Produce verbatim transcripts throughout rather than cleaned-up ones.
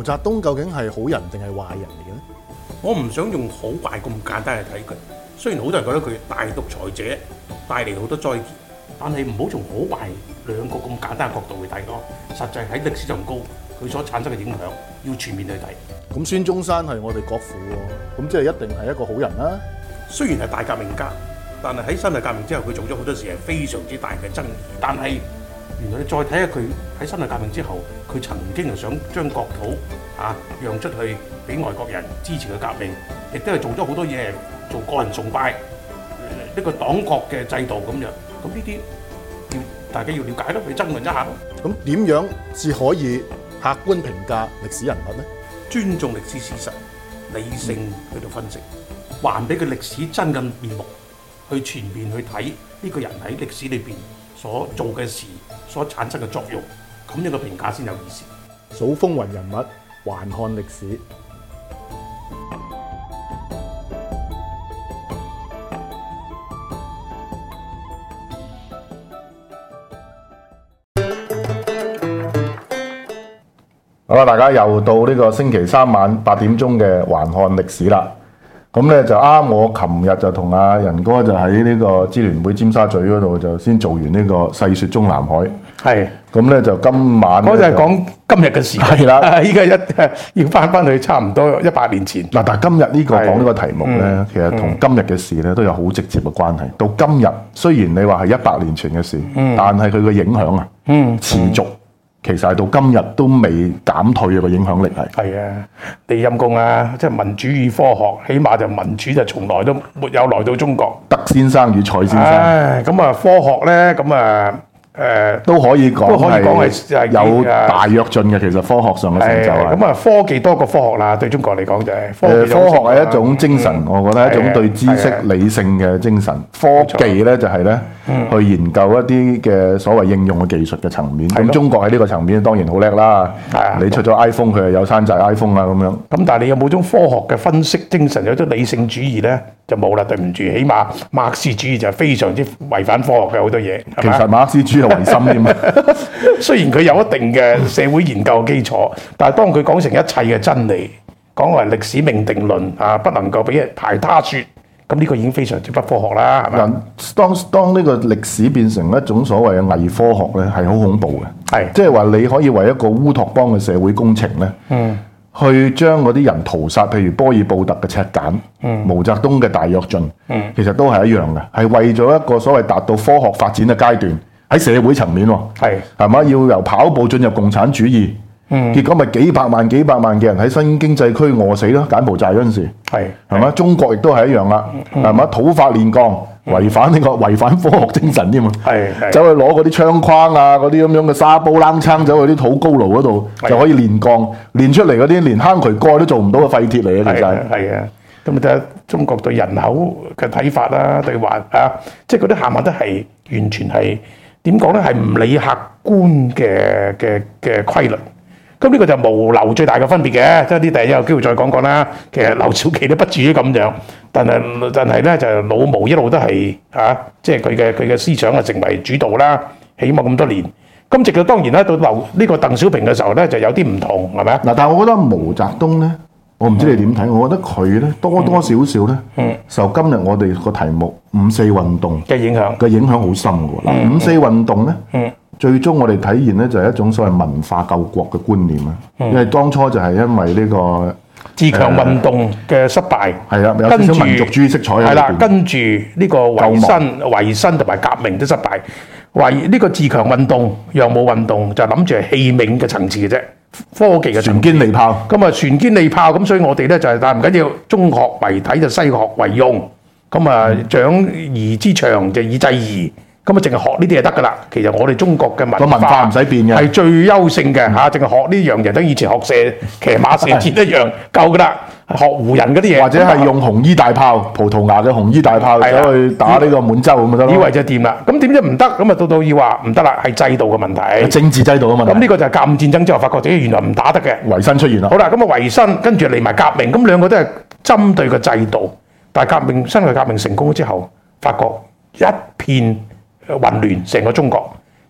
澤東究竟係好人定係壞人嚟嘅咧？ 我唔想用好壞咁簡單去睇佢。雖然好多人覺得佢大獨裁者，帶嚟好多災劫，但係唔好從好壞兩個咁簡單嘅角度去睇咯。實際喺歷史上高，佢所產生嘅影響要全面去睇。 咁孫中山係我哋國父喎，咁即係一定係一個好人啦。 雖然係大革命家，但係喺辛亥革命之後，佢做咗好多事係非常之大嘅爭議。但係原來你再睇下佢喺辛亥革命之後，佢曾經係想將國土啊讓出去俾外國人支持嘅革命，亦都係做咗好多嘢，做個人崇拜，呢、這個黨國嘅制度咁樣。咁呢啲要大家要了解咯，去爭論一下咯。 咁點樣至可以客觀評價歷史人物呢？ 尊重歷史事實，理性去到分析，還俾佢歷史真嘅面目，去全面去睇呢個人喺歷史裏邊所做嘅事，所產生嘅作用，咁樣嘅評價先有意思。 數風雲人物，還看歷史。好啦，大家又到呢個星期三晚八點鐘嘅還看歷史啦。咁咧就啱，我琴日就同阿仁哥就喺呢個支聯會尖沙咀嗰度就先做完呢個細說中南海。係。咁咧就今晚我就係講今日嘅事。係啦，依家一要翻翻去差唔多一百年前。 嗱，但係今日呢個講呢個題目咧，嗯、其實同今日嘅事咧都有好直接嘅關係。到今日雖然你話係一百年前嘅事，嗯、但係佢嘅影響啊，嗯、持續。其實係到今日都未減退嘅個影響力係。係啊，你陰公啊！即係民主與科學，起碼就民主就從來都沒有來到中國。德先生與蔡先生。唉，咁啊，科學咧，咁啊。誒、呃、都可以講，都可以講係有大躍進嘅。其實科學上嘅成就係咁啊，科技多過科學啦。對中國嚟講就係科技。科學係一種精神，嗯、我覺得係一種對知識理性嘅精神。科技咧就係咧、嗯、去研究一啲嘅所謂應用嘅技術嘅層面。咁中國喺呢個層面當然好叻啦。你出咗 iPhone，佢係有山寨 iPhone 啊咁樣。咁但係你有冇種科學嘅分析精神，有種理性主義咧？就冇啦，對唔住，起碼馬克思主義就非常之違反科學嘅好多嘢。其實馬克思主義係唯心添啊，雖然佢有一定嘅社會研究基礎，但係當佢講成一切嘅真理，講為歷史命定論啊，不能夠俾人排他說，咁呢個已經非常之不科學啦，係嘛？當當呢個歷史變成一種所謂嘅偽科學咧，係好恐怖嘅。係，即係話你可以為一個烏托邦嘅社會工程咧。嗯。去將嗰啲人屠殺，譬如波爾布特嘅赤柬，嗯、毛澤東嘅大躍進，嗯、其實都係一樣嘅，係為咗一個所謂達到科學發展嘅階段，喺社會層面喎，係係嘛，要由跑步進入共產主義，嗯、結果咪幾百萬幾百萬嘅人喺新經濟區餓死咯，柬埔寨嗰陣時，係係嘛，中國亦都係一樣啦，係嘛、嗯，土法煉鋼。違反呢、這個違反科學精神添嘛？係走去攞嗰啲槍框啊，嗰啲咁樣嘅沙煲冷槍，走去啲土高爐嗰度就可以煉鋼，煉出嚟嗰啲連坑渠蓋都做唔到嘅廢鐵嚟嘅，其實係啊。咁你睇下中國對人口嘅睇法啦，對環啊，即係嗰啲行物都係完全係點講咧？係唔理客觀嘅嘅嘅規律。咁呢個就係毛劉最大嘅分別嘅，即係啲第日有機會再講講啦。其實劉少奇都不至於咁樣，但係但係咧就老毛一路都係啊，即係佢嘅佢嘅思想啊成為主導啦，起碼咁多年。咁直到當然咧到劉呢個鄧小平嘅時候咧就有啲唔同，係咪啊？嗱，但係我覺得毛澤東咧，我唔知你點睇，我覺得佢咧多多少少咧、嗯、受今日我哋個題目五四運動嘅影響嘅影響好深嘅喎。嗱、嗯，五四運動咧。嗯最終我哋體現咧就係一種所謂文化救國嘅觀念啊，嗯、因為當初就係因為呢、這個自強運動嘅失敗，係啦、呃，有少少民族主義色彩喺裏邊。係啦，跟住呢個維新、維新同埋革命都失敗，為呢個自強運動、洋務運動就諗住係器皿嘅層次嘅啫，科技嘅船堅利炮。咁啊，船堅利炮咁，所以我哋咧就係但唔緊要，中學為體就西學為用，咁啊長兒之長就以制夷。咁啊，淨係學呢啲就得噶啦。其實我哋中國嘅文化個文化唔使變嘅，係最優勝嘅嚇。淨係學呢樣嘢，等以前學射騎馬射箭一樣夠噶啦。學胡人嗰啲嘢，或者係用紅衣大炮，葡萄牙嘅紅衣大炮走去打呢個滿洲咁就得咯。以為就掂啦。咁點知唔得？咁啊到到要話唔得啦，係制度嘅問題，政治制度嘅問題。咁呢個就係甲午戰爭之後發覺自己原來唔打得嘅，維新出現啦。好啦，咁啊維新跟住嚟埋革命，咁兩個都係針對個制度。但係革命辛亥革命成功之後，發覺一片混亂成個中國，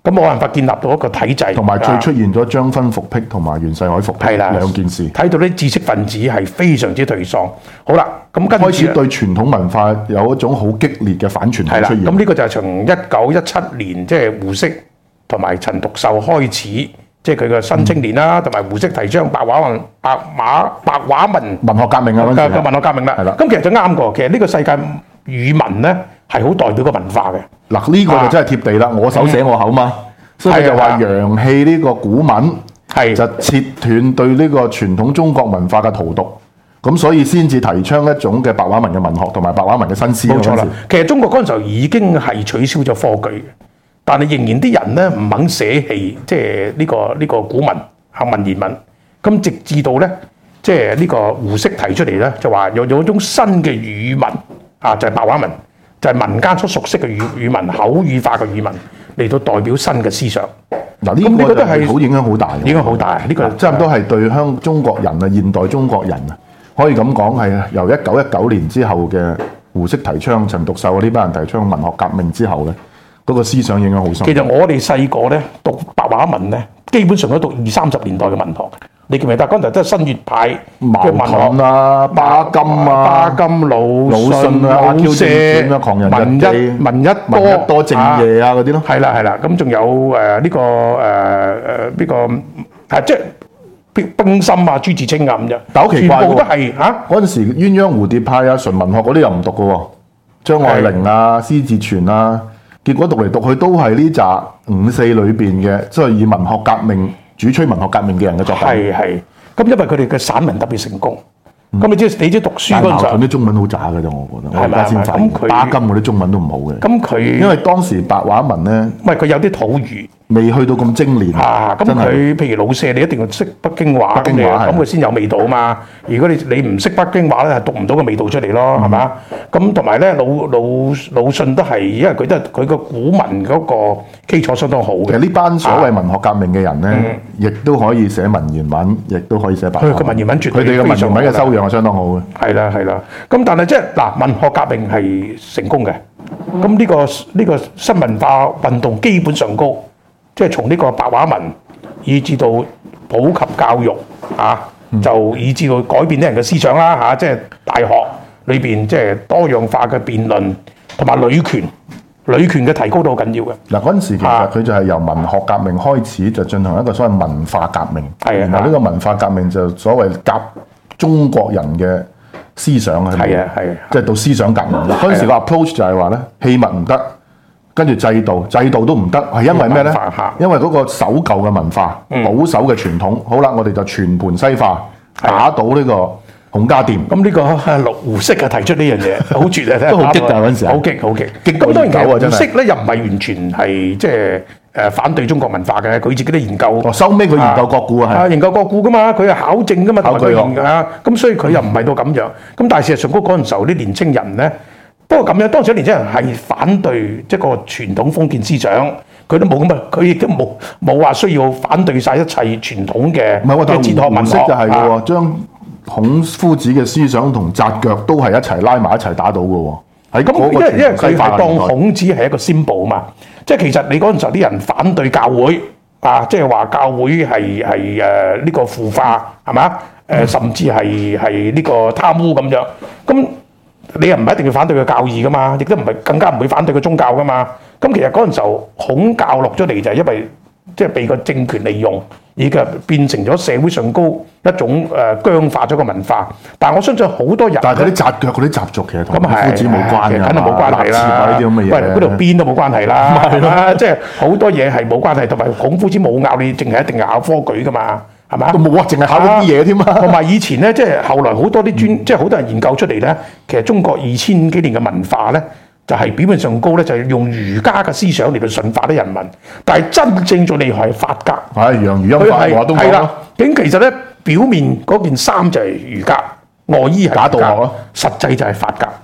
咁冇辦法建立到一個體制。 同埋最出現咗張勳復辟同埋袁世凱復辟兩件事， 睇到啲知識分子係非常之頹喪。好啦，咁跟住開始對傳統文化有一種好激烈嘅反傳統出現。 咁呢個就係從一九一七年即係、就是、胡適同埋陳獨秀開始，即係佢嘅新青年啦，同埋、嗯、胡適提倡白話文、白馬白話文文學革命啊，嗰陣時文學革命啦。咁其實就啱過，其實呢個世界語文咧係好代表個文化嘅。 嗱，呢個就真係貼地啦，我手寫我口嘛。嗯所以就話楊氣呢個古文係就切斷對呢個傳統中國文化嘅荼毒，咁所以先至提倡一種嘅白話文嘅文學同埋白話文嘅新詩。冇錯啦，其實中國嗰陣時候已經係取消咗科舉，但係仍然啲人咧唔肯捨棄，即係呢個呢、這個古文啊文言文。咁直至到咧，即係呢個胡適提出嚟咧，就話有有一種新嘅語文啊，就係、是、白話文，就係、是、民間所熟悉嘅語語文，口語化嘅語文。嚟到代表新嘅思想，嗱呢個都係好影響好大， 影響好大。呢個差唔多係對香中國人啊，現代中國人啊，可以咁講係由一九一九年之後嘅胡適提倡、陳獨秀呢班人提倡文學革命之後咧，嗰個思想影響好深。 其實我哋細個咧讀白話文咧，基本上都讀二三十年代嘅文學。你記唔記得？嗰陣都係新月派、 茅盾啊、巴金啊、 巴金、魯迅啊、阿 Q 正傳啊、狂人日記、 聞一聞一多正夜啊嗰啲咯。 係啦係啦，咁仲有誒呢個誒誒呢個係即係冰冰心啊、朱自清啊咁樣。 但好奇怪喎， 全部都係嚇嗰陣時鴛鴦蝴蝶派啊、純文學嗰啲又唔讀嘅喎，張愛玲啊、施蟄存啊，結果讀嚟讀去都係呢紮五四裏邊嘅，即係以文學革命。主吹文學革命嘅人嘅作品係係，咁因為佢哋嘅散文特別成功，咁、嗯、你知你知讀書嗰陣，矛盾啲中文好渣嘅啫，我覺得。係咪先？咁佢巴金嗰啲中文都唔好嘅。咁佢因為當時白話文咧，唔係佢有啲土語，未去到咁精煉。啊，咁佢譬如老舍，你一定要識北京話，北京話咁佢先有味道啊嘛。如果你你唔識北京話咧，係讀唔到個味道出嚟咯，係嘛？咁同埋咧，魯魯魯迅都係，因為佢都係佢個古文嗰個基礎相當好嘅。其實呢班所謂文學革命嘅人咧，亦都可以寫文言文，亦都可以寫白話文。佢個文言文絕對佢哋嘅文言文嘅修養係相當好嘅。係啦係啦，咁但係即係嗱，文學革命係成功嘅。咁呢個呢個新文化運動基本上高，即係從呢個白話文，以至到普及教育啊。就以至到改變啲人嘅思想啦嚇，即係大學裏邊即係多樣化嘅辯論，同埋女權，女權嘅提高都好緊要嘅。嗱嗰陣時其實佢就係由文學革命開始，就進行一個所謂文化革命。係啊，然後呢個文化革命就所謂夾中國人嘅思想啊，係啊係啊，即係到思想革命。嗱嗰陣時個 approach 就係話咧，器物唔得，跟住制度，制度都唔得，係因為咩咧？因為嗰個守舊嘅文化、嗯、保守嘅傳統，好啦，我哋就全盤西化，打倒呢個孔家店。咁呢個陸胡適啊提出呢樣嘢，好絕啊！都好激㗎嗰陣時，好激好激。咁當然其實胡適咧又唔係完全係即係誒反對中國文化嘅，佢自己都研究。哦，收尾佢研究國古啊，係研究國古㗎嘛，佢係考證㗎嘛，考據學啊。咁所以佢又唔係到咁樣。咁但係事實上嗰陣時候啲年青人咧。不過咁樣，當時啲年青人係反對即係個傳統封建思想，佢都冇咁啊，佢亦都冇冇話需要反對晒一切傳統嘅。唔係喎，但係胡適就係喎，將孔夫子嘅思想同紮腳都係一齊拉埋一齊打倒嘅喎。喺咁，因為因為佢係當孔子係一個 symbol 啊嘛，即係其實你嗰陣時候啲人反對教會啊，即係話教會係係誒呢個腐化係嘛？誒、呃、甚至係係呢個貪污咁樣咁。你又唔係一定要反對佢教義噶嘛，亦都唔係更加唔會反對佢宗教噶嘛。咁其實嗰陣時候孔教落咗嚟就係因為即係被個政權利用，而嘅變成咗社會上高一種誒僵化咗個文化。但係我相信好多人，但係嗰啲紮腳嗰啲習俗其實同孔夫子冇關嘅，肯定冇關係啦。呢啲咁嘅嘢，喂，嗰條鞭都冇關係啦，係嘛？即係好多嘢係冇關係，同埋孔夫子冇拗你，淨係一定係考科舉噶嘛。係嘛？都冇啊，淨係考呢啲嘢添嘛。同埋以前咧，即係後來好多啲專，嗯、即係好多人研究出嚟咧。其實中國二千幾年嘅文化咧，就係、是、表面上高咧，就係用儒家嘅思想嚟到馴化啲人民。但係真正最厲害係法家。係楊儒欽法，我都講啦。咁其實咧，表面嗰件衫就係儒家，外衣係假道學咯。實際就係法家。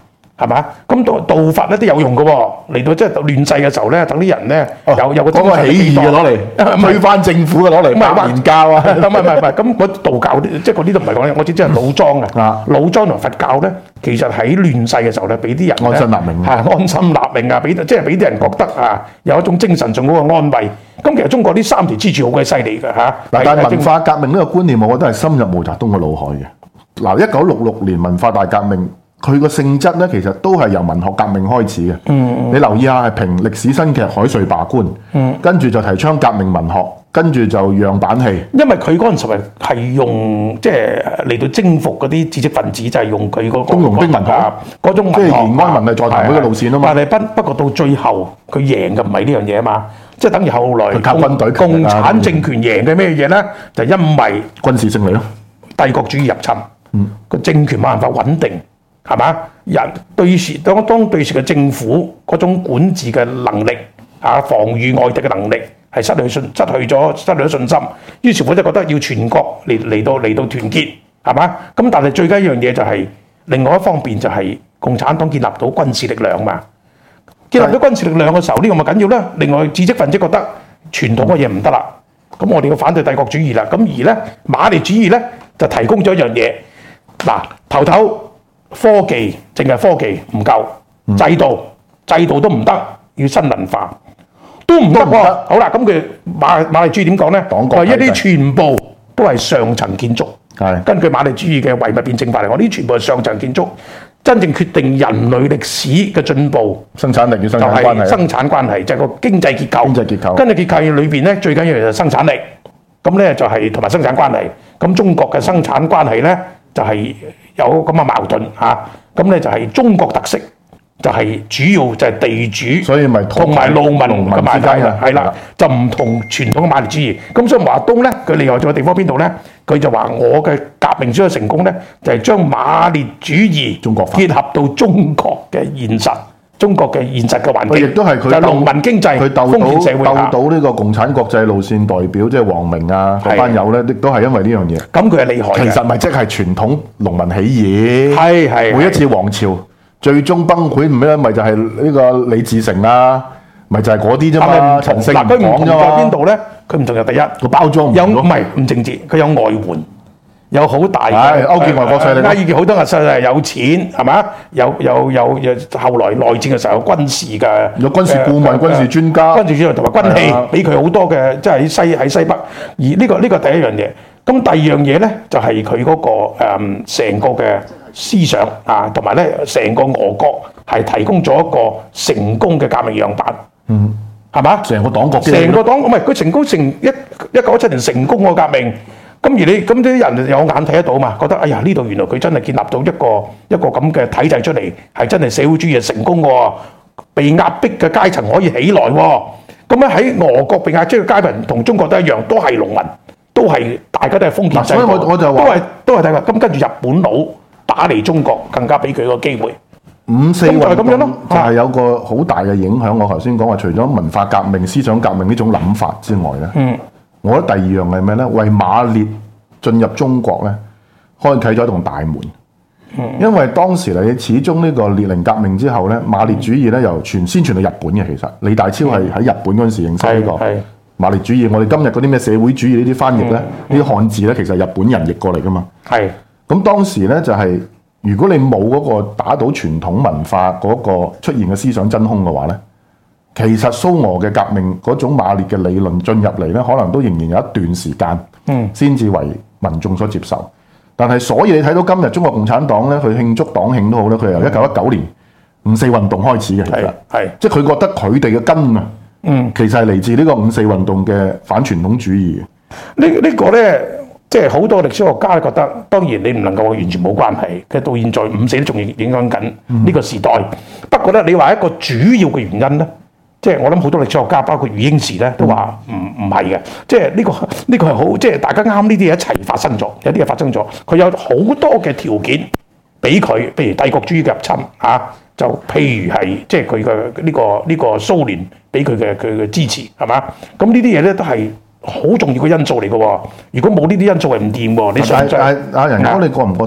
係嘛？咁道道法咧都有用嘅喎，嚟到即係亂世嘅時候咧，等啲人咧有有個嗰個起義嘅攞嚟推翻政府嘅攞嚟白蓮教啊， 唔係唔係唔係，咁嗰道教即係嗰啲都唔係講，我只知係老莊啊，老莊同佛教咧，其實喺亂世嘅時候咧，俾啲人安心立命， 係安心立命啊，俾即係俾啲人覺得啊，有一種精神上嗰個安慰。咁其實中國呢三條支柱好鬼犀利嘅嚇。 嗱，但係文化革命呢個觀念，我覺得係深入毛澤東嘅腦海嘅。嗱，一九六六年文化大革命，佢個性質咧，其實都係由文學革命開始嘅。嗯，你留意下係評歷史新劇海瑞罷官，嗯，跟住就提倡革命文學，跟住就樣板戲。因為佢嗰陣時係係用即係嚟到征服嗰啲知識分子，就係、是、用佢嗰個工農兵文學嗰種文學，即係延安文藝座談會嘅路線啊嘛。但係不不過到最後佢贏嘅唔係呢樣嘢啊嘛，即係等於後來靠軍隊共產政權贏嘅咩嘢咧？就因為軍事勝利咯，帝國主義入侵，嗯，個政權冇辦法穩定。係嘛？人對時當當對時嘅政府嗰種管治嘅能力啊，防禦外敵嘅能力係失去信失去咗失去咗信心。於是乎就覺得要全國嚟嚟到嚟到團結，係嘛？咁但係最緊一樣嘢就係、是、另外一方面就係共產黨建立到軍事力量嘛。建立到軍事力量嘅時候，呢、這個咪緊要啦。另外知識分子覺得傳統嘅嘢唔得啦，咁我哋要反對帝國主義啦。咁而咧馬列主義咧就提供咗一樣嘢，嗱頭頭。科技淨係科技唔夠，制度制度都唔得，要新文化都唔得喎。好啦，咁佢馬馬列主義點講咧？話一啲全部都係上層建築。係根據馬列主義嘅唯物辯證法嚟講，呢啲全部係上層建築，真正決定人類歷史嘅進步。生產力與生產關係。就係生產關係，就係個經濟結構。經濟結構。經濟結構裏邊咧，最緊要就係生產力。咁咧就係同埋生產關係。咁中國嘅生產關係咧就係。有咁嘅矛盾嚇，咁、啊、咧就係中國特色，就係、是、主要就係地主，所以咪同埋農民嘅關係啦，係啦，就唔同傳統嘅馬列主義。咁所以華東咧，佢厲害在嘅地方邊度咧？佢就話我嘅革命之所以成功咧，就係、是、將馬列主義中國結合到中國嘅現實。中國嘅現實嘅環境，亦都係佢就農民經濟，佢鬥到鬥到呢個共產國際路線代表，即係王明啊嗰班友咧，亦都係因為呢樣嘢。咁佢係厲害嘅。其實咪即係傳統農民起義。係係。每一次王朝最終崩潰唔咩？咪就係呢個李自成啊，咪就係嗰啲啫嘛。陳勝唔講啫嘛。喺邊度咧？佢唔同就第一個包裝有唔係唔政治，佢有外援。有好大嘅勾結外國勢力，勾結好多嘅勢力有錢係嘛？有有有有後來內戰嘅時候有軍事嘅，有軍事顧問、軍事專家、軍事專家同埋軍器，俾佢好多嘅，即係喺西喺西北。而呢個呢個第一樣嘢，咁第二樣嘢咧就係佢嗰個誒成個嘅思想啊，同埋咧成個俄國係提供咗一個成功嘅革命樣板。嗯，係嘛？成個黨國，成個黨唔係佢成功成一一九一七年成功個革命。咁而你咁啲人有眼睇得到嘛？覺得哎呀呢度原來佢真係建立到一個一個咁嘅體制出嚟，係真係社會主義成功喎，被壓迫嘅階層可以起來喎。咁咧喺俄國被壓迫嘅階層同中國都一樣，都係農民，都係大家都係封建制度，所以我我就話都係都係睇法。咁跟住日本佬打嚟中國，更加俾佢個機會。五四運動就係有個好大嘅影響。我頭先講話，除咗文化革命、思想革命呢種諗法之外咧。嗯。我覺得第二樣係咩咧？為馬列進入中國咧，開啟咗一棟大門。嗯、因為當時你始終呢個列寧革命之後咧，馬列主義咧由傳先傳到日本嘅。其實李大釗係喺日本嗰陣時認識呢個馬列主義。我哋今日嗰啲咩社會主義呢啲翻譯咧，呢啲漢字咧，其實係日本人譯過嚟噶嘛。係。咁當時咧就係、是、如果你冇嗰個打倒傳統文化嗰個出現嘅思想真空嘅話咧。其實蘇俄嘅革命嗰種馬列嘅理論進入嚟咧，可能都仍然有一段時間，嗯，先至為民眾所接受。但係所以你睇到今日中國共產黨咧，佢慶祝黨慶都好咧，佢由一九一九年五四運動開始嘅，其實係，即係佢覺得佢哋嘅根啊，嗯，其實係嚟自呢個五四運動嘅反傳統主義。呢呢、呢個咧，即係好多歷史學家覺得，當然你唔能夠完全冇關係。其實到現在五四都仲影響緊呢個時代。嗯、不過咧，你話一個主要嘅原因咧。即係我諗好多歷史學家，包括余英時咧，都話唔唔係嘅。即係呢個呢個係好，即係大家啱呢啲嘢一齊發生咗，有啲嘢發生咗。佢有好多嘅條件俾佢，譬如帝國主義嘅入侵啊，就譬如係即係佢嘅呢個呢個蘇聯俾佢嘅佢嘅支持係嘛？咁呢啲嘢咧都係好重要嘅因素嚟嘅喎。如果冇呢啲因素係唔掂喎。你想唔想？阿阿仁哥，你覺唔覺得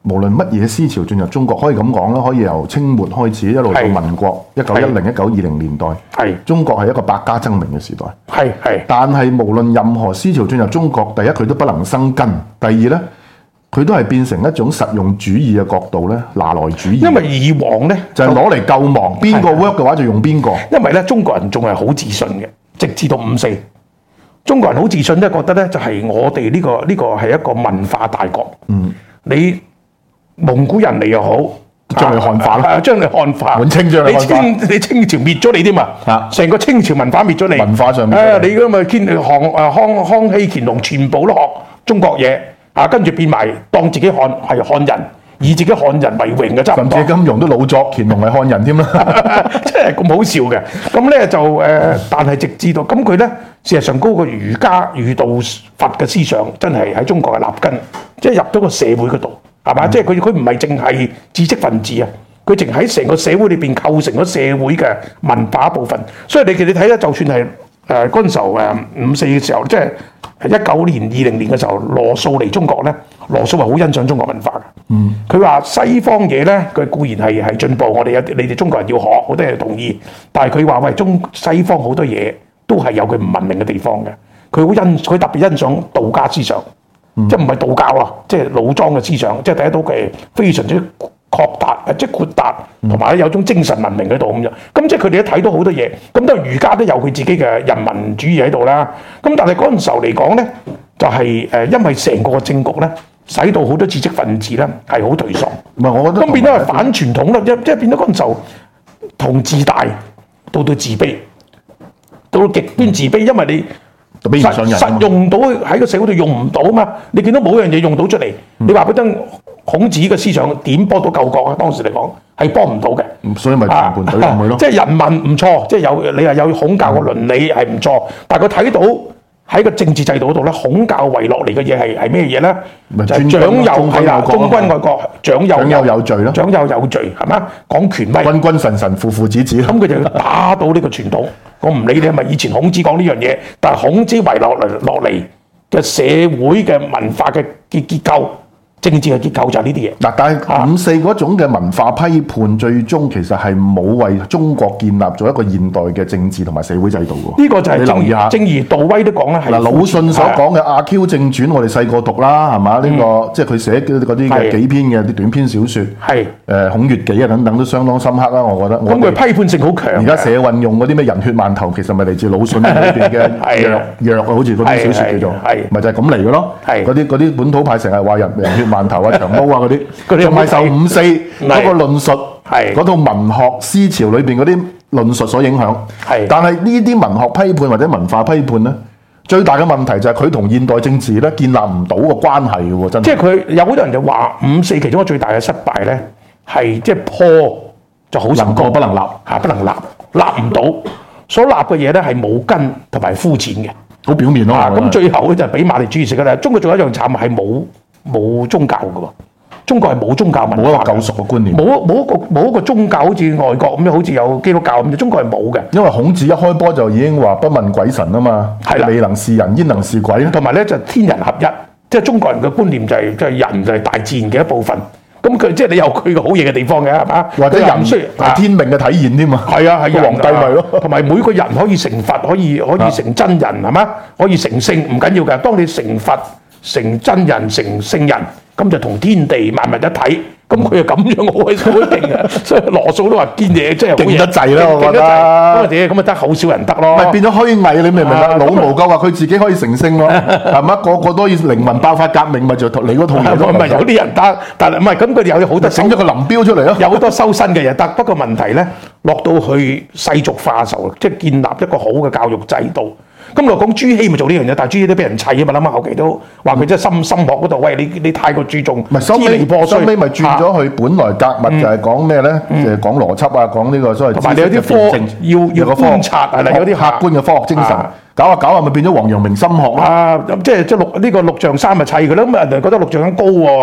無論乜嘢思潮進入中國，可以咁講啦，可以由清末開始一路到民國一九一零、一九二零年代，係中國係一個百家爭鳴嘅時代。係係，但係無論任何思潮進入中國，第一佢都不能生根，第二咧佢都係變成一種實用主義嘅角度咧，拿來主義。因為以往咧就係攞嚟救亡，邊個 work 嘅話就用邊個。因為咧中國人仲係好自信嘅，直至到五四。中國人好自信咧，覺得咧就係我哋呢、這個呢、這個係一個文化大國。嗯，你蒙古人嚟又好，將你漢化啦，將你漢化。滿清將你漢化。你清你清朝滅咗你添嘛？啊，成個清朝文化滅咗你。文化上面。誒，你咁咪乾康誒康康熙乾隆全部都學中國嘢，啊，跟住變埋當自己漢係漢人。以自己漢人為榮嘅差唔多，甚至金庸都老作乾隆係漢人添啦，真係咁好笑嘅。咁咧就誒、呃，但係直至到咁佢咧，事實上嗰個儒家儒道佛嘅思想真係喺中國係立根，即係入咗個社會嗰度，係嘛？嗯、即係佢佢唔係淨係知識分子啊，佢淨喺成個社會裏邊構成咗社會嘅文化部分。所以你其實你睇咧，就算係誒嗰陣時候誒五四嘅時候，即係一九年、二零年嘅時候，羅素嚟中國咧，羅素係好欣賞中國文化嘅。嗯，佢話西方嘢咧，佢固然係係進步，我哋有你哋中國人要學，好多人同意。但係佢話喂，中西方好多嘢都係有佢唔文明嘅地方嘅。佢好欣，佢特別欣賞道家思想，嗯、即係唔係道教啊，即係老莊嘅思想，即係睇得到佢非常之擴達，即係豁達，同埋咧有種精神文明喺度咁樣。咁即係佢哋都睇到好多嘢。咁當然儒家都有佢自己嘅人民主義喺度啦。咁但係嗰陣時候嚟講咧，就係、是、誒，因為成個政局咧。使到好多知識分子咧係好頹喪，唔係我覺得咁變咗係反傳統啦，即即係變咗嗰陣時候從自大到到自卑，到到極端自卑，因為你實實用到喺個社會度用唔到啊嘛，你見到冇樣嘢用到出嚟，嗯、你話俾真孔子嘅思想點幫到救國啊？當時嚟講係幫唔到嘅，所以咪全盤懟落去咯。即係人民唔錯，即係有你係有孔教嘅倫理係唔錯，但係佢睇到。喺個政治制度嗰度咧，孔教遺落嚟嘅嘢係係咩嘢咧？就係長幼係啦，忠君愛國，長幼有有罪咯，長幼有罪係嘛？講權威，君君臣臣，父父子子。咁佢就要打倒呢個傳統。我唔理你係咪以前孔子講呢樣嘢，但係孔子遺落嚟落嚟嘅社會嘅文化嘅結結構。政治嘅結構就係呢啲嘢。嗱，但係五四嗰種嘅文化批判，最終其實係冇為中國建立咗一個現代嘅政治同埋社會制度喎。呢個就係你留意下，正如杜威都講咧，係嗱魯迅所講嘅《阿 Q 正傳》，我哋細個讀啦，係嘛？呢個即係佢寫嗰啲嘅幾篇嘅啲短篇小説，係誒《孔乙己》啊等等都相當深刻啦，我覺得。咁佢批判性好強。而家社運用嗰啲咩人血饅頭，其實咪嚟自魯迅裏邊嘅藥藥啊，好似嗰啲小説叫做，咪就係咁嚟嘅咯。係嗰啲嗰啲本土派成日話人人血饅頭啊、長毛啊嗰啲，仲係受五四嗰個論述，嗰套文學思潮裏邊嗰啲論述所影響。係，但係呢啲文學批判或者文化批判咧，最大嘅問題就係佢同現代政治咧建立唔到個關係嘅喎，真係。即係佢有好多人就話五四其中一個最大嘅失敗咧，係即係破就好成功，不能立嚇，不能立，立唔到，所立嘅嘢咧係冇根同埋膚淺嘅，好表面咯。咁最後咧就係俾馬列主義食嘅啦。中國仲有一樣慘係冇。冇宗教嘅喎，中國係冇宗教文化，冇一個救贖嘅觀念，冇冇一個冇一個宗教，好似外國咁樣，好似有基督教咁，中國係冇嘅。因為孔子一開波就已經話不問鬼神啊嘛，係未能是人，焉能是鬼咧？同埋咧就天人合一，即係中國人嘅觀念就係即係人就係大自然嘅一部分。咁佢即係你有佢個好嘢嘅地方嘅係嘛？或者人需係天命嘅體現添嘛？係啊係啊，皇帝咪咯，同埋每個人可以成佛，可以可以成真人係嘛？可以成聖唔緊要嘅，當你成佛。成真人成聖人，咁就同天地萬物一體，咁佢就咁樣好鬼好勁嘅，所以羅素都話堅嘢，真係勁得滯啦，我覺得。咁啊點？咁啊得好少人得咯。咪變咗虛偽，你明唔明啊？老毛夠話佢自己可以成聖咯，係咪？個個都要靈魂爆發革命，咪就你嗰套嘢咯。唔係有啲人得，但係唔係咁佢哋有好多整咗個林彪出嚟咯，有好多修身嘅嘢得。不過問題咧，落到去世俗化嘅時候，即係建立一個好嘅教育制度。咁我講朱熹咪做呢樣嘢，但係朱熹都俾人砌啊嘛，諗下後期都話佢真係心心學嗰度，喂你你太過注重，唔係收尾收尾咪轉咗去本來格物就係講咩咧？誒講邏輯啊，講呢個所謂同埋你有啲科要要觀察係啦，有啲客觀嘅科學精神，搞下搞下咪變咗王陽明心學啦。即係即係陸呢個陸象山咪砌佢咯，咁人哋覺得陸象山高喎。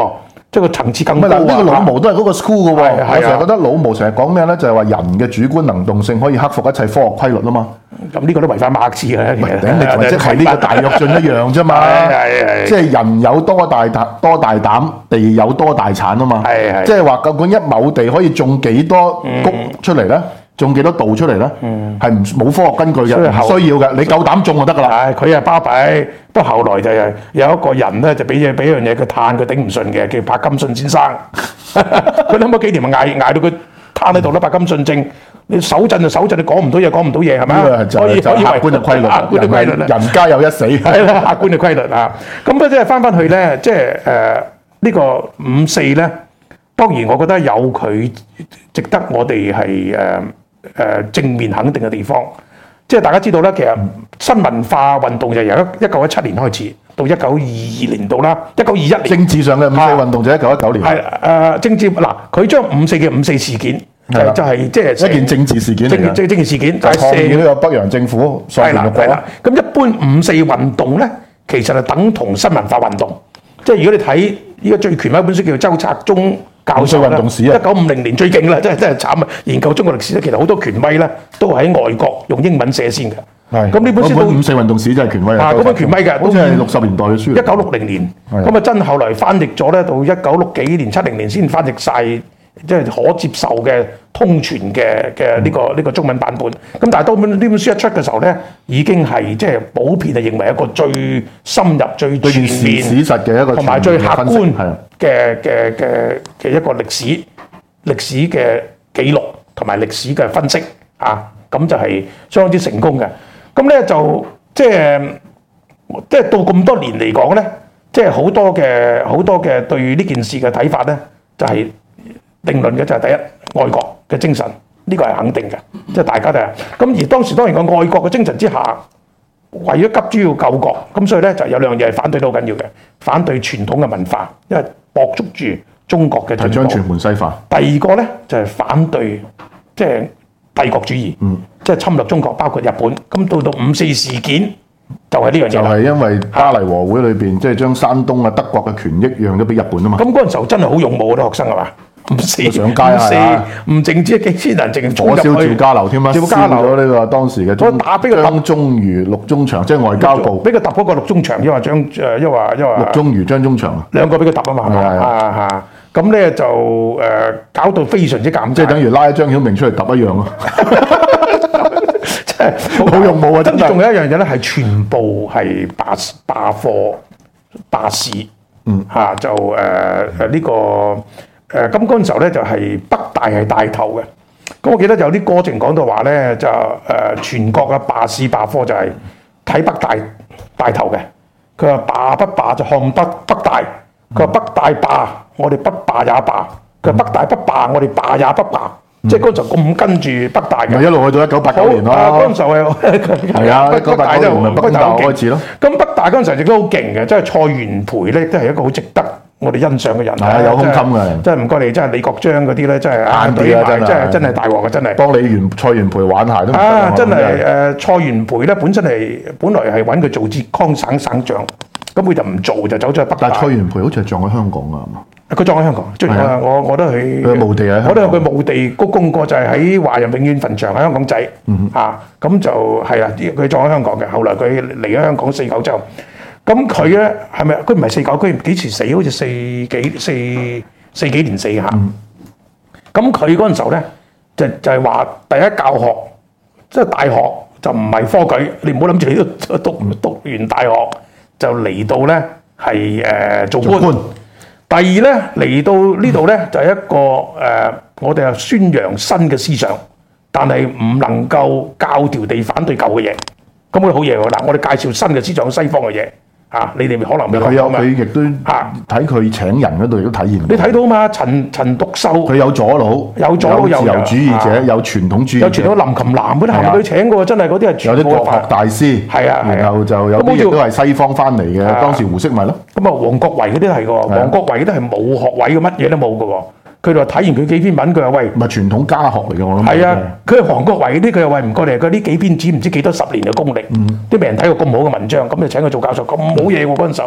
即係個層次更高。 嗱，呢個老毛都係嗰個 school 嘅喎。我成日覺得老毛成日講咩咧，就係話人嘅主觀能動性可以克服一切科學規律啊嘛。 咁呢個都違反馬克思嘅，其實你即係呢個大躍進一樣啫嘛。即係人有多大膽多大膽，地有多大產啊嘛。即係話究竟一畝地可以種幾多谷出嚟咧？種幾多度出嚟咧？係唔冇科學根據嘅，唔需要嘅。你夠膽種就得㗎啦。 係佢係巴閉，不過後來就係有一個人咧，就俾嘢俾樣嘢佢嘆，佢頂唔順嘅，叫柏金遜先生。佢諗咗幾年咪捱捱到佢攤喺度啦。柏金遜症，你手震就手震，你講唔到嘢，講唔到嘢係咪？ 呢個就係就客觀嘅規律，客觀嘅規律啦。人家有一死， 係啦，客觀嘅規律啊。咁啊，即係翻翻去咧，即係誒呢個五四咧，當然我覺得有佢值得我哋係誒。誒正面肯定嘅地方，即係大家知道咧，其實新文化運動就由一九一七年開始，到一九二二年到啦，一九二一年政治上嘅五四運動就一九一九年。 係誒政治嗱，佢將五四嘅五四事件就就係即係一件政治事件嚟嘅， 政政治事件， 就係抗議呢個北洋政府所建嘅國。 咁一般五四運動咧，其實係等同新文化運動，即係如果你睇依家最權威一本書叫周策忠教授啦，一九五零年最勁啦，真係真係慘啊！研究中國歷史咧，其實好多權威咧都喺外國用英文寫先嘅。係咁呢本書都五四運動史真係權威啊！ 嗰本權威嘅， 好似係六十年代嘅書。 一九六零年，咁啊真後來翻譯咗咧，到一九六幾年、七零年先翻譯晒，即係可接受嘅通傳嘅嘅呢個呢、嗯、個中文版本。咁但係當本呢本書一出嘅時候咧，已經係即係普遍係認為一個最深入、最全面、 史實嘅一個同埋最客觀嘅嘅嘅嘅一個歷史歷史嘅記錄同埋歷史嘅分析啊，咁就係相當之成功嘅。咁咧就即係即係到咁多年嚟講咧，即係好多嘅好多嘅對呢件事嘅睇法咧，就係、是、定論嘅就係第一愛國嘅精神，呢、這個係肯定嘅，即係大家都係。咁而當時當然個愛國嘅精神之下，為咗急於要救國，咁所以咧就有兩樣嘢係反對都好緊要嘅，反對傳統嘅文化，因為駁捉住中國嘅進步， 係將全盤西化。 第二個咧就係、是、反對即係、就是、帝國主義，嗯，即係侵略中國，包括日本。咁到到五四事件就係呢樣嘢，就係因為巴黎和會裏邊即係將山東啊德國嘅權益讓咗俾日本啊嘛。咁嗰陣時候真係好勇武嗰啲學生係嘛？五四上街啊！唔淨止幾千人，淨火燒趙家樓添啦，燒咗呢個當時嘅張忠餘、陸宗祥，即係外交部俾佢揼嗰個陸宗祥，因為張誒，因為因為陸宗餘、張宗祥兩個俾佢揼啊嘛，係嘛啊嚇！咁咧就誒搞到非常之尷尬， 即係等於拉張曉明出嚟揼一樣咯， 即係好勇武啊！跟住仲有一樣嘢咧，係全部係罷罷課、罷市，嗯嚇就誒誒呢個。誒咁嗰陣時候咧，就係北大係帶頭嘅。咁我記得有啲歌淨講到話咧，就誒、呃、全國嘅罷市罷課就係睇北大帶頭嘅。佢話罷不罷就看北北大。佢話北大罷，我哋不罷也罷。佢話北大不罷，我哋罷也不罷。嗯、即係嗰陣時候咁跟住北大嘅。咪一路去到一九八九年咯。嗰陣時候係係啊，一九八九年咪北大開始咯。咁北大嗰陣時候亦都好勁嘅，即係蔡元培咧，都係一個好值得我哋欣賞嘅人，係啊，有胸襟嘅，真係唔該你，真係李國章嗰啲咧，真係硬啲啊，真係真係大鑊嘅，真係幫李元蔡元培玩鞋都啊，真係誒蔡元培咧，本身係本來係揾佢做浙江省省長，咁佢就唔做，就走咗去北大。但係蔡元培好似係撞喺香港㗎，係嘛？佢撞喺香港，即係我我都去，佢墓地喺香港，我都有佢墓地鞠躬過，就係喺華人永遠墳場喺香港仔嚇，咁就係啊，佢撞喺香港嘅，後來佢嚟咗香港四九之後。咁佢咧係咪？佢唔係四九，佢幾時死？好似四幾四四幾年死嚇。咁佢嗰陣時候咧，就就係話第一教學，即係大學就唔係科舉，你唔好諗住你都讀讀完大學就嚟到咧係誒做官。做官第二咧嚟到呢度咧就係一個誒、呃，我哋係宣揚新嘅思想，但係唔能夠教條地反對舊嘅嘢。咁佢好嘢喎！嗱，我哋介紹新嘅思想，西方嘅嘢。啊！你哋可能未佢有佢亦都嚇睇佢請人嗰度亦都體現。你睇到嘛？陳陳獨秀佢有左腦， 有左腦，有自由主義者，有傳統主義者， 有傳統林琴南嗰啲係佢請過，真係嗰啲係全部有啲國學大師。係啊，然後就有啲亦都係西方翻嚟嘅，當時胡適咪咯。咁啊，王國維嗰啲係喎，王國維嗰啲係冇學位嘅，乜嘢都冇嘅喎。佢就睇完佢幾篇文，佢話喂， 唔係傳統家學嚟嘅，我諗係啊。佢係黃國維嗰啲，佢又喂唔過嚟，佢呢幾篇紙唔知幾多十年嘅功力，都未人睇過咁好嘅文章，咁就請佢做教授，咁冇嘢喎嗰陣時候。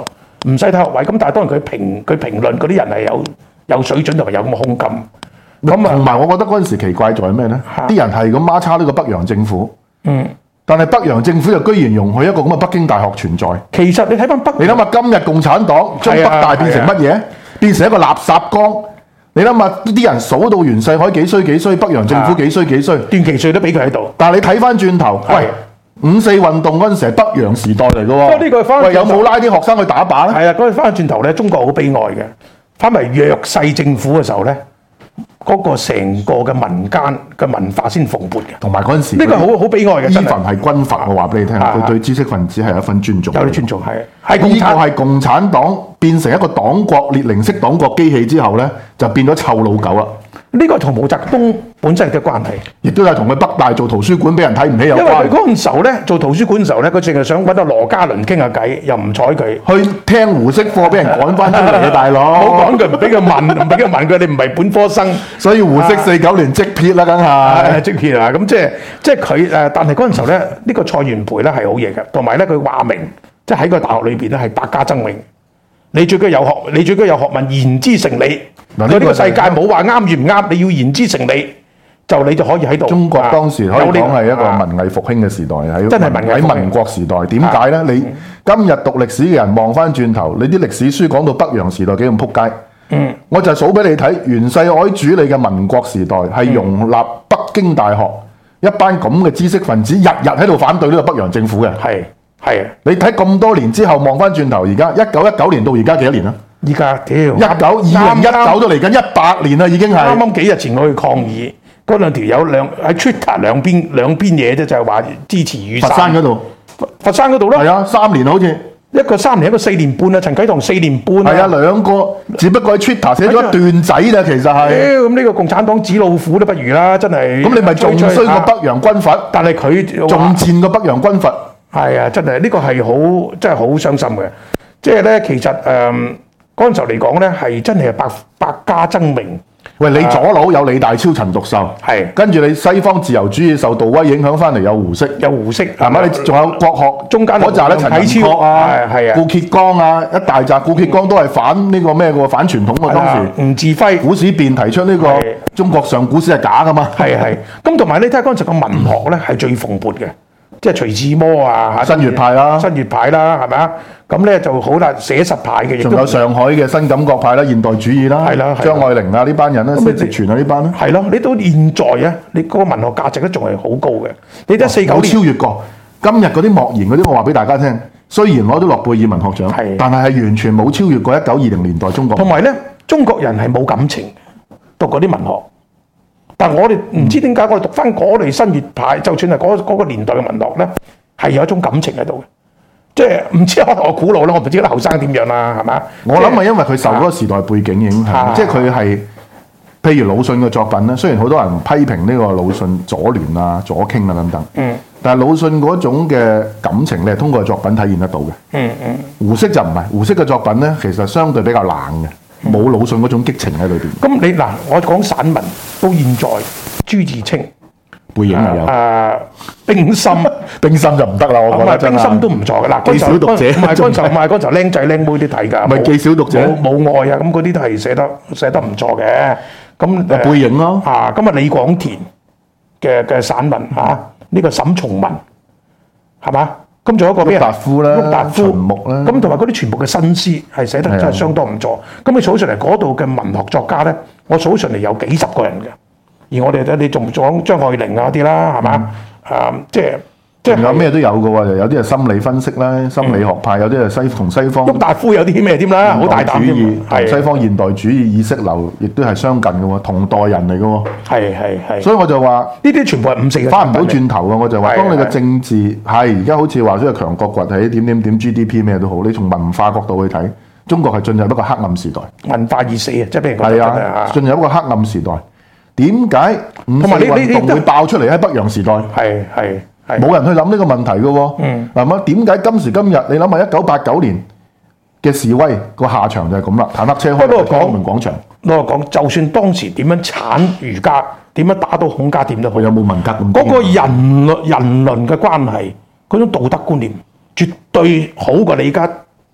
唔使睇學位。咁但係當然佢評佢評論嗰啲人係有有水準同埋有咁嘅胸襟。咁啊， 同埋我覺得嗰陣時奇怪在咩咧？啲人係咁孖叉呢個北洋政府。嗯。但係北洋政府就居然容許一個咁嘅北京大學存在。 其實你睇翻北， 你諗下今日共產黨將北大變成乜嘢？變成一個垃圾缸。你諗下啲人數到袁世凱幾衰幾衰，北洋政府幾衰幾衰， 段祺瑞都俾佢喺度。 但係你睇翻轉頭，喂，五四運動嗰陣時係北洋時代嚟嘅喎。呢個喂有冇拉啲學生去打靶咧？ 係啊，嗰陣翻轉頭咧，中國好悲哀嘅。翻嚟弱勢政府嘅時候咧。嗰個成個嘅民間嘅文化先蓬勃嘅， 同埋嗰陣時呢個好好悲哀嘅。 依份係軍閥，我話俾你聽，佢對知識分子係有一份尊重。 有啲尊重係。係呢個係共產黨變成一個黨國列寧式黨國機器之後咧，就變咗臭老狗啦。呢個同毛澤東本身嘅關係，亦都係同佢北大做圖書館俾人睇唔起有關。因為佢嗰陣時候咧做圖書館嘅時候咧，佢淨係想揾到羅家倫傾下偈，又唔睬佢。去聽胡適課俾人趕翻出嚟嘅大佬。冇講佢唔俾佢問，唔俾佢問佢，你唔係本科生。所以胡適四九年即撇啦，梗係即撇啊！咁即係即係佢誒，但係嗰陣時候咧，呢個蔡元培咧係好嘢嘅，同埋咧佢話明，即係喺個大學裏邊咧係百家爭鳴。你最緊有學，你最緊有學問，言之成理。嗱，呢個世界冇話啱與唔啱，你要言之成理，就你就可以喺度。中國當時可以講係一個文藝復興嘅時代，喺真係文藝喺民國時代。點解咧？你今日讀歷史嘅人望翻轉頭，你啲歷史書講到北洋時代幾咁撲街。嗯，我就數俾你睇，袁世凱主理嘅民國時代係容納北京大學一班咁嘅知識分子，日日喺度反對呢個北洋政府嘅。係。係啊！你睇咁多年之後望翻轉頭，而家一九一九年到而家幾多年啊？依家屌一九二零一九都嚟緊一百年啦，已經係啱啱幾日前我去抗議，嗰兩條友兩喺 Twitter 兩邊兩邊嘢啫，就係話支持雨傘。佛山嗰度，佛山嗰度咯。係啊，三年好似一個三年，一個四年半啊。陳啟棠四年半。係啊，兩個只不過喺 Twitter 寫咗一段仔啦，其實係。咁呢個共產黨紙老虎都不如啦，真係。咁你咪仲衰過北洋軍閥？但係佢仲賤過北洋軍閥。係啊，真係呢個係好，真係好傷心嘅。即係咧，其實誒嗰陣時候嚟講咧，係真係百百家爭鳴。喂，你左佬有李大釗、陳獨秀，係跟住你西方自由主義受杜威影響翻嚟，有胡適，有胡適係嘛？你仲有國學中間嗰紮咧，陳寅恪啊，係啊，顧頡剛啊，一大紮顧頡剛都係反呢個咩嘅喎？反傳統喎當時。吳稚暉古史辨提出呢個中國上古史係假噶嘛？係係。咁同埋你睇下嗰陣時個文學咧係最蓬勃嘅。即係徐志摩啊，新月派啦，新月派啦，係咪啊？咁咧就好啦，寫實派嘅，仲有上海嘅新感覺派啦，現代主義啦，係啦，張愛玲啊呢班人咧，薛直全啊呢班咧，係咯，你到現在啊，你嗰個文學價值都仲係好高嘅。你睇四九年超越過今日嗰啲莫言嗰啲，我話俾大家聽，雖然攞到諾貝爾文學獎，係，但係係完全冇超越過一九二零年代中國。同埋咧，中國人係冇感情讀嗰啲文學。但係我哋唔知點解，我哋讀翻嗰類新月派，就算係嗰嗰個年代嘅文學咧，係有一種感情喺度嘅。即係唔知可能我古老啦，我唔知啲後生點樣啦，係嘛？我諗係因為佢受嗰個時代背景影響，即係佢係譬如魯迅嘅作品咧。雖然好多人批評呢個魯迅左聯啊、左傾啊等等，嗯，但係魯迅嗰種嘅感情，你係通過作品體現得到嘅。嗯嗯。胡適就唔係，胡適嘅作品咧，其實相對比較冷嘅。冇魯迅嗰種激情喺裏邊。咁你嗱，我講散文到現在，朱自清背影係有。誒，冰心，冰心就唔得啦，我覺得真係。冰心都唔錯嘅嗱，記小讀者唔係嗰陣時候，唔係嗰陣時候僆仔僆妹啲睇㗎。唔係記小讀者。冇冇愛啊！咁嗰啲都係寫得寫得唔錯嘅。咁誒背影咯。啊，咁啊李廣田嘅嘅散文嚇，呢個沈從文係嘛？咁仲有一個咩？郁達夫啦，郁達夫、秦牧啦，咁同埋嗰啲全部嘅新詩係寫得真係相當唔錯。咁你數上嚟嗰度嘅文學作家咧，我數上嚟有幾十個人嘅。而我哋咧，你仲講張愛玲啊啲啦，係嘛？啊，即係即係有咩都有嘅喎，有啲係心理分析啦，心理學派，有啲係西同西方。郁達夫有啲咩添啦？好大膽嘅，係西方現代主義意識流，亦都係相近嘅喎，同代人嚟嘅喎。係係係。所以我就話呢啲全部係五四嘅，翻唔到轉頭嘅。我就話，當你嘅政治係而家好似話即係強國崛起，點點點 G D P 咩都好，你從文化角度去睇，中國係進入一個黑暗時代。文化已死啊！即係譬如係啊，進入一個黑暗時代。點解五四運動會爆出嚟喺北洋時代？係係。冇人去諗呢個問題嘅喎，嗱咁點解今時今日你諗下一九八九年嘅示威個下場就係咁啦，坦克車開到天安門廣場。我講就算當時點樣鏟儒家，點樣打到孔家店都好，有冇文革咁？嗰個人人倫嘅關係，嗰種道德觀念絕對好過你而家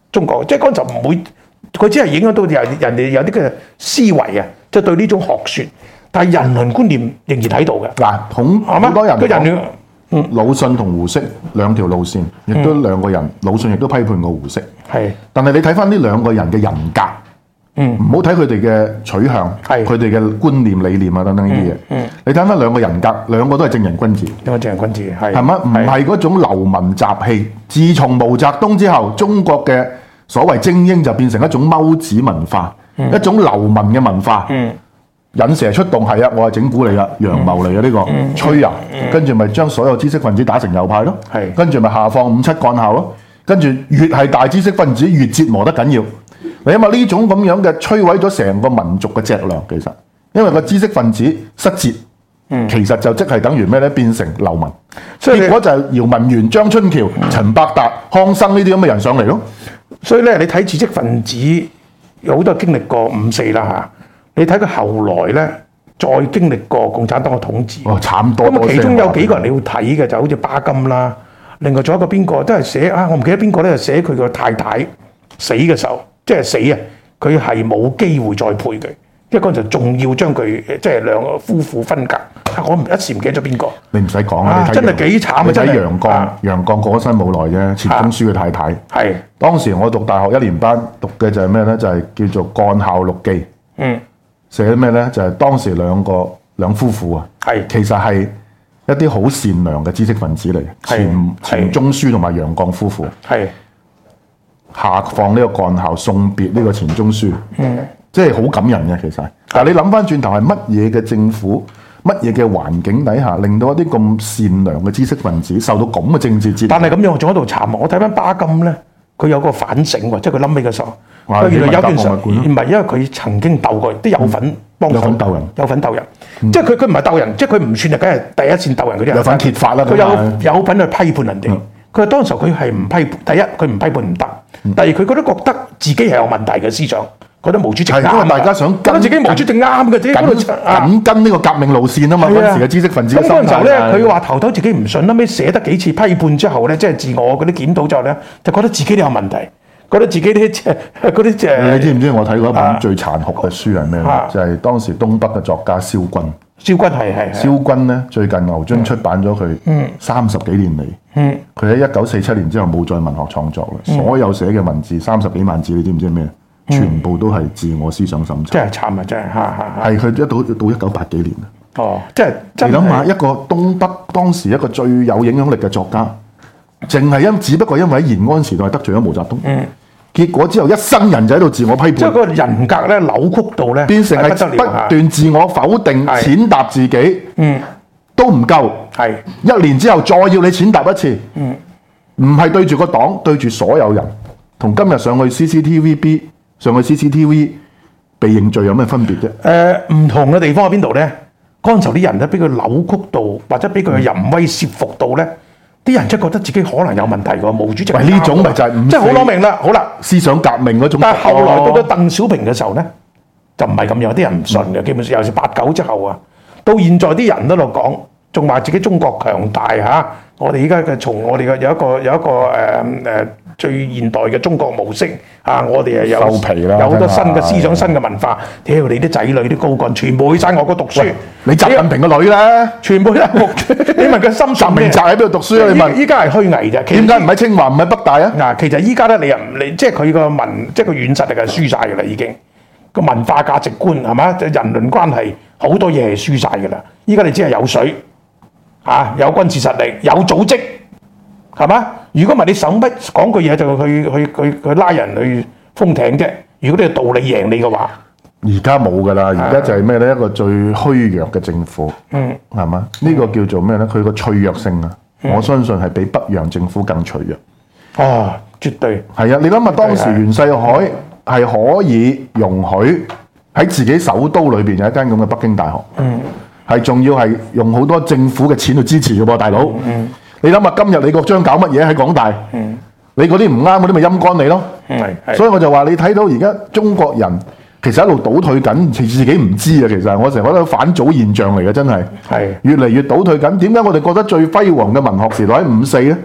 中國，即係嗰陣唔會，佢只係影響到人人哋有啲嘅思維啊，即係對呢種學説，但係人倫觀念仍然喺度嘅。 嗱，同好多人講， 嗯，魯迅同胡適兩條路線，亦都兩個人，魯迅亦都批判過胡適。係，但係你睇翻呢兩個人嘅人格，嗯，唔好睇佢哋嘅取向，係佢哋嘅觀念、理念啊等等呢啲嘢。嗯，你睇翻兩個人格，兩個都係正人君子。兩個正人君子係係咪？唔係嗰種流民雜氣。自從毛澤東之後，中國嘅所謂精英就變成一種踎子文化，嗯、一種流民嘅文化。嗯。引蛇出洞係啊，我係整蠱你噶，陽謀嚟嘅呢個，嗯、吹啊，嗯、跟住咪將所有知識分子打成右派咯，係，跟住咪下放五七幹校咯，跟住越係大知識分子越折磨得緊要，你因為呢種咁樣嘅摧毀咗成個民族嘅脊梁，其實因為個知識分子失節，嗯、其實就即係等於咩咧？變成流民，所以結果就係姚文元、張春橋、陳伯達、康生呢啲咁嘅人上嚟咯。 所以咧，你睇知識分子有好多經歷過五四啦嚇。你睇佢後來咧，再經歷過共產黨嘅統治， 哦，慘多多。 咁其中有幾個人你要睇嘅，就好似巴金啦，另外仲有一個邊個，都係寫啊，我唔記得邊個咧，寫佢個太太死嘅時候，即係死啊，佢係冇機會再配佢，因為嗰陣仲要將佢即係兩個夫婦分隔。我唔一時唔記得咗邊個。 你唔使講啊， 真係幾慘啊！ 你睇楊絳，楊絳過咗身冇耐啫，錢鍾書嘅太太。係當時我讀大學一年班讀嘅就係咩咧？就係叫做《幹校錄記》。嗯。寫咩咧？就係、是、當時兩個兩夫婦啊，係其實係一啲好善良嘅知識分子嚟，錢錢鍾書同埋楊絳夫婦，係下放呢個幹校送別呢個錢鍾書，嗯，即係好感人嘅其實。但係你諗翻轉頭係乜嘢嘅政府，乜嘢嘅環境底下，令到一啲咁善良嘅知識分子受到咁嘅政治折磨？但係咁樣仲喺度慘。我睇翻巴金咧，佢有個反省喎，即係佢冧尾嘅時候。原來有件事唔係，因為佢曾經鬥過，都有份幫手，有份鬥人，有份鬥人。嗯、即係佢佢唔係鬥人，即係佢唔算係梗係第一線鬥人嗰啲人。有份揭發啦，佢有有份去批判人哋。佢話、嗯、當時佢係唔批判，第一佢唔批判唔得，嗯、第二佢覺得覺得自己係有問題嘅思想，覺得毛主席啱。因為大家想跟自己毛主席啱嘅啫，緊跟呢個革命路線啊嘛。嗰陣時嘅知識分子咁嗰陣時候咧，佢話頭頭自己唔順，後尾寫得幾次批判之後咧，即係自我嗰啲檢討之後咧，就覺得自己都有問題。覺得自己啲即係嗰啲即係，你知唔知我睇過一本最殘酷嘅書係咩咧？啊、就係當時東北嘅作家蕭軍。蕭軍係係。蕭軍咧最近牛津出版咗佢三十幾年嚟，佢喺一九四七年之後冇再文學創作啦。嗯、所有寫嘅文字三十幾萬字，你知唔知係咩？嗯、全部都係自我思想審查。真係慘啊！真係嚇嚇嚇。係佢一到到一九八幾年啊。哦，即係你諗下一個東北當時一個最有影響力嘅作家，淨係因只不過因為喺延安時代得罪咗毛澤東。嗯。結果之後，一生人就喺度自我批判，即係個人格咧扭曲到咧，變成係不斷自我否定、踐踏自己，嗯，都唔夠，係一年之後再要你踐踏一次，嗯，唔係對住個黨，對住所有人，同今日上去 C C T V B 上去 C C T V 被認罪有咩分別啫？誒、呃，唔同嘅地方喺邊度咧？嗰陣時候啲人咧，俾佢扭曲到，或者俾佢嘅淫威懾服到咧。啲人真係覺得自己可能有問題㗎，毛主席係呢種咪就係五四，即係好攞命啦。好啦，思想革命嗰種。但係後來到咗鄧小平嘅時候咧，就唔係咁樣，啲人唔信嘅。基本上，尤其是八九之後啊，到現在啲人都喺度講，仲話自己中國強大嚇。我哋依家嘅從我哋嘅有一個有一個誒誒、呃、最現代嘅中國模式啊，我哋係有有好多新嘅思想、新嘅文化。屌你啲仔女啲高幹，全部去曬外國讀書。你習近平個女咧，全部都係你問佢心習明澤喺邊度讀書啊？你問依家係虛偽啫。點解唔喺清華唔喺北大啊？嗱，其實依家咧你又唔你即係佢個文即係個軟實力係輸晒㗎啦，已經個文化價值觀係嘛？人倫關係好多嘢係輸晒㗎啦。依家你只係有水。嚇、啊、有軍事實力，有組織，係嘛？如果唔係你手筆講句嘢就去去去去拉人去封艇啫。如果你道理贏你嘅話，而家冇㗎啦。而家就係咩咧？一個最虛弱嘅政府，嗯，係嘛？呢、呢個叫做咩咧？佢個脆弱性啊，嗯、我相信係比北洋政府更脆弱。哦，絕對係啊！你諗下當時袁世凱係可以容許喺自己首都裏邊有一間咁嘅北京大學。嗯。係仲要係用好多政府嘅錢去支持嘅噃，大佬。嗯、你諗下今日李國章搞乜嘢喺港大？嗯、你嗰啲唔啱嗰啲咪陰乾你咯。嗯、所以我就話你睇到而家中國人其實一路倒退緊，自己唔知啊。其實我成日覺得反祖現象嚟嘅，真係。係越嚟越倒退緊。點解我哋覺得最輝煌嘅文學時代喺五四咧？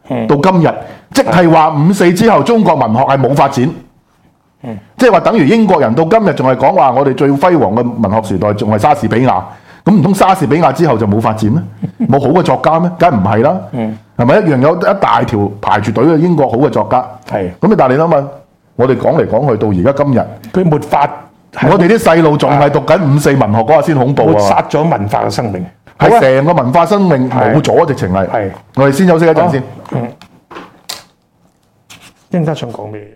嗯、到今日，即係話五四之後中國文學係冇發展。嗯、即係話等於英國人到今日仲係講話我哋最輝煌嘅文學時代仲係莎士比亞，咁唔通莎士比亞之後就冇發展咩？冇好嘅作家咩？梗係唔係啦，係咪、嗯、一樣有一大條排住隊嘅英國好嘅作家？係咁啊！但係你諗下，我哋講嚟講去到而家今日，佢抹發，我哋啲細路仲係讀緊五四文學嗰下先恐怖啊！抹殺咗文化嘅生命，係成個文化生命冇咗，直情係。係我哋先休息一陣先。嗯，應家想講咩？